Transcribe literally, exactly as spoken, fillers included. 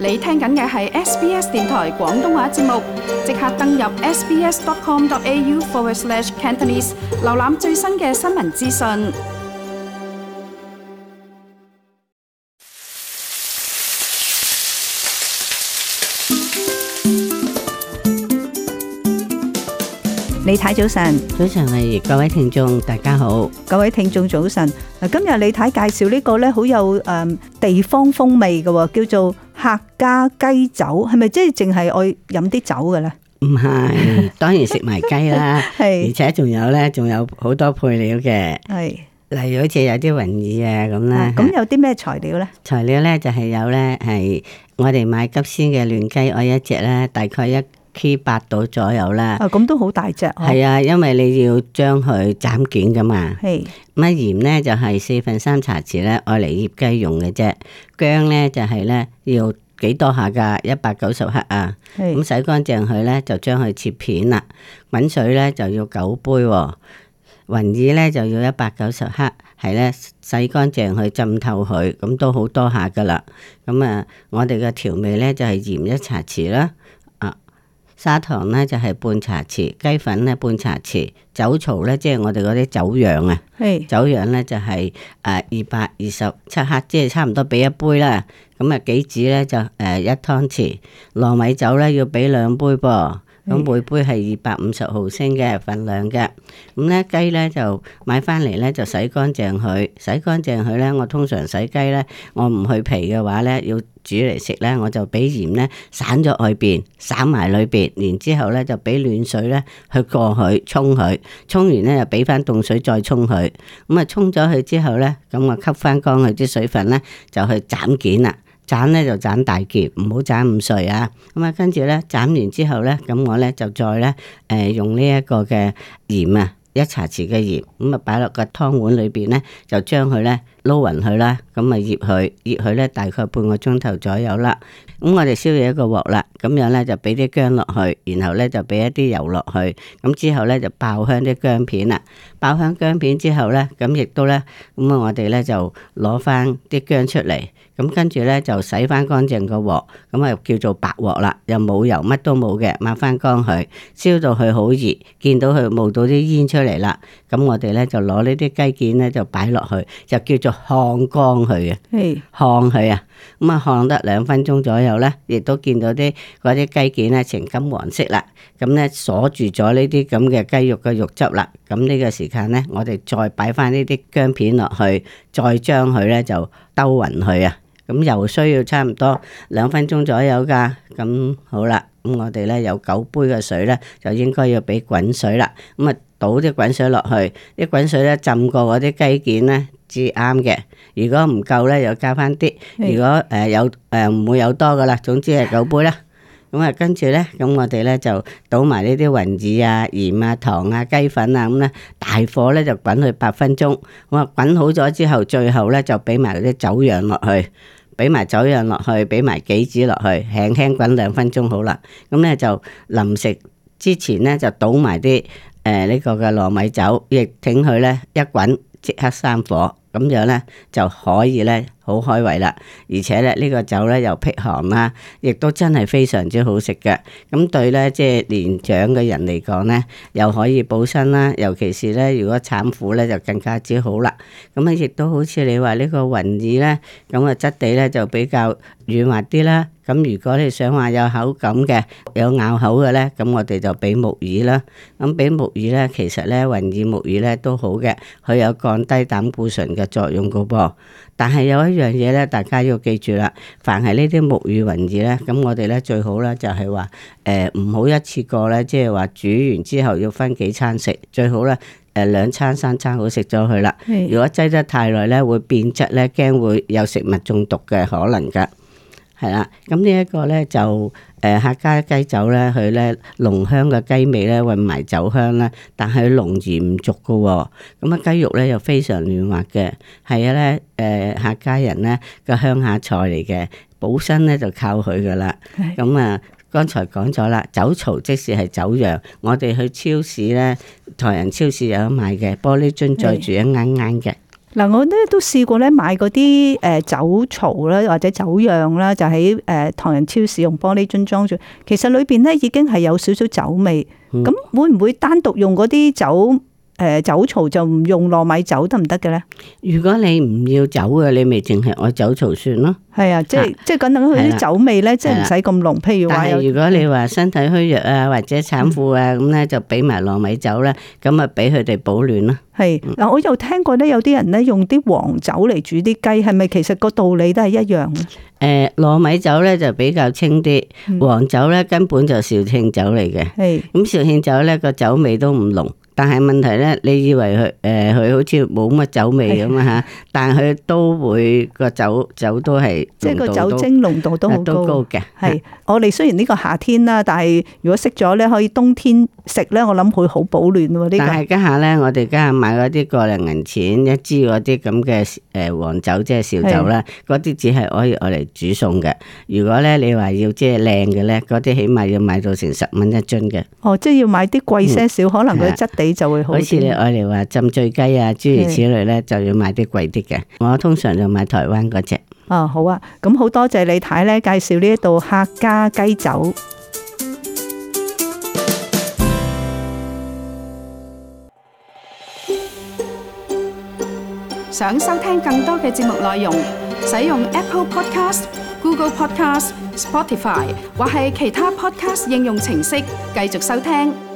你聽緊嘅係 S B S 電台廣東話節目，即刻登入 sbs.com.au forward slash Cantonese， 瀏覽最新嘅新聞資訊。 李太早晨， 早晨係各位聽眾，大家好。 各位聽眾早晨。嗱，今日李太介紹呢個咧，好有誒地方風味嘅，叫做客家雞酒，係咪即係淨係愛飲啲酒嘅咧？ 唔係，當然食埋雞啦， 係而且仲有咧，仲有好多配料嘅， 係例如好似有啲雲耳啊咁啦。 咁有啲咩材料咧？ 材料咧就係有咧，係我哋買急鮮嘅嫩雞，我一隻咧大概一 K 八到左右啦。 啊，咁都好大隻。 係啊，因為你要將佢斬件噶嘛。係。咁啊鹽咧就係四分三茶匙咧，愛嚟醃雞用嘅啫。薑咧就係咧要幾多下噶？一百九十克啊。咁洗乾淨佢咧，就將佢切片啦。滾水咧就要九杯喎。雲耳咧就要一百九十克，係咧洗乾淨去浸透佢，咁都好多下噶啦。咁啊，我哋嘅調味咧就係鹽一茶匙啦。砂糖咧就係半茶匙，雞粉咧半茶匙，酒槽咧即係我哋嗰啲酒釀啊，酒釀咧就係誒二百二十七克，即係差唔多俾一杯啦。咁啊杞子咧就誒一湯匙，糯米酒咧要俾兩杯噃。咁每杯係二百五十毫升嘅份量嘅。咁咧雞咧就買翻嚟咧就洗乾淨佢，洗乾淨佢咧我通常洗雞咧，我唔去皮嘅話咧，要煮嚟食咧，我就俾鹽咧散咗外邊，散埋裏邊，然之後咧就俾暖水咧去過佢沖佢，沖完咧就俾翻凍水再沖佢。咁啊沖咗佢之後咧，咁我吸翻乾佢啲水分咧，就去斬件啦。斬咧就斬大件，唔好斬咁碎啊！咁啊，跟住咧斬完之後咧，咁我咧就再咧誒、呃、用呢一個嘅鹽啊，一茶匙嘅鹽，咁啊擺落個湯碗裏邊咧，就將佢咧撈勻佢啦，咁啊醃佢，醃佢咧大概半個鐘頭左右啦。咁我哋燒熱一個鑊啦，咁樣咧就俾啲薑落去，然後咧就俾一啲油落去，咁之後咧就爆香啲薑片啦。爆香薑片之後咧，咁亦都咧，咁啊我哋咧就攞翻啲薑出嚟。咁跟住咧就洗翻乾淨個鑊，咁啊叫做白鑊啦，又冇油，乜都冇嘅，抹翻乾佢，燒到佢好熱，見到佢冒到啲煙出嚟啦，咁我哋咧就攞呢啲雞件咧就擺落去，就叫做烘乾佢嘅，烘佢啊，咁啊烘得兩分鐘左右咧，亦都見到啲嗰啲雞件咧呈金黃色啦，咁咧鎖住咗呢啲咁嘅雞肉嘅肉汁啦，咁呢個時間咧，我哋再擺翻呢啲薑片落去，再將佢咧就兜勻佢啊。咁又需要差唔多兩分鐘左右噶，咁好啦，咁我哋咧有九杯嘅水咧，就應該要俾滾水啦。咁啊倒啲滾水落去，啲滾水咧浸過嗰啲雞件咧至啱嘅。如果唔夠咧，又加翻啲。如果誒有誒唔會有多噶啦，總之係九杯啦。咁啊跟住咧，咁我哋咧就倒埋呢啲雲耳啊、鹽啊、糖啊、雞粉啊咁咧，大火咧就滾佢八分鐘。咁啊滾好咗之後，最後咧就俾埋啲酒釀落去。俾埋酒釀落去，俾埋杞子落去，輕輕滾兩分鐘好啦。咁咧就臨食之前咧就倒埋啲誒呢個嘅糯米酒，亦挺佢咧一滾即刻閂火，咁樣咧就可以咧好開胃啦。而且咧呢個酒咧又辟寒啦，亦都真係非常之好食嘅。咁對咧即係年長嘅人嚟講咧，又可以補身啦。尤其是咧如果產婦咧就更加之好啦。咁啊亦都好似你話呢個雲耳咧，咁啊質地咧就比較軟滑啲啦。咁如果你想話有口感嘅，有咬口嘅咧，咁我哋就俾木耳啦。咁俾木耳咧，其實咧雲耳木耳咧都好嘅，佢有降低膽固醇嘅作用噶噃。但係有一樣嘢咧，大家要記住啦，凡係呢啲木耳雲耳咧，咁我哋咧最好咧就係話誒唔好一次過咧，即係話煮完之後要分幾餐食，最好咧誒兩餐三餐好食咗佢啦。如果擠得太耐咧，會變質咧，驚會有食物中毒嘅可能噶。係啦，咁呢一個咧就誒、呃、客家雞酒咧，佢咧濃香嘅雞味咧混埋酒香啦，但係濃而唔足噶喎。咁啊雞肉咧又非常嫩滑嘅，係啊咧誒客家人咧個鄉下菜嚟嘅，補身咧就靠佢噶啦。咁啊剛才講咗啦，酒槽即使係酒釀，我哋去超市咧，台人超市有得賣嘅，玻璃樽載住一啱啱嘅。 嗱，我咧都試過咧買嗰啲誒酒槽啦，或者酒釀啦，就喺誒唐人超市用玻璃樽裝住。其實裏邊咧已經係有少少酒味。咁、嗯、會唔會單獨用嗰啲酒誒酒槽就唔用糯米酒得唔得嘅咧？ 如果你唔要酒嘅，你咪淨係愛酒槽算咯。係啊，即係即係等等佢啲酒味咧，即係唔使咁濃。譬如話， 但係如果你話身體虛弱啊，或者產婦啊咁咧，就俾埋糯米酒咧，咁啊俾佢哋保暖咯。 係嗱，我又聽過咧，有啲人咧用啲黃酒嚟煮啲雞，係咪其實個道理都係一樣咧？ 誒，糯米酒咧就比較清啲，黃酒咧根本就紹興酒嚟嘅。係咁紹興酒咧個酒味都唔濃。但係問題咧，你以為佢誒佢好似冇乜酒味咁啊嚇？但係佢都會個酒酒都係即係個酒精濃度都好高嘅。 係我哋雖然呢個夏天啦，但係如果識咗咧，可以冬天食咧，我諗會好保暖喎。呢個但係家下咧，我哋家下買嗰啲個零銀錢一支嗰啲咁嘅誒黃酒，即係紹酒啦，嗰啲只係可以攞嚟煮餸嘅。如果咧你話要即係靚嘅咧，嗰啲起碼要買到成十蚊一樽嘅。 哦，即係要買啲貴些少，嗯、可能佢質地就會好。 好似你愛嚟話浸醉雞啊，諸如此類咧，就要買啲貴啲嘅。我通常就買台灣嗰隻。 哦，好啊，咁好多謝李太咧介紹呢一道客家雞酒。 想收聽更多嘅節目內容，使用 Apple Podcast、Google Podcast、Spotify 或係其他 Podcast 應用程式繼續收聽。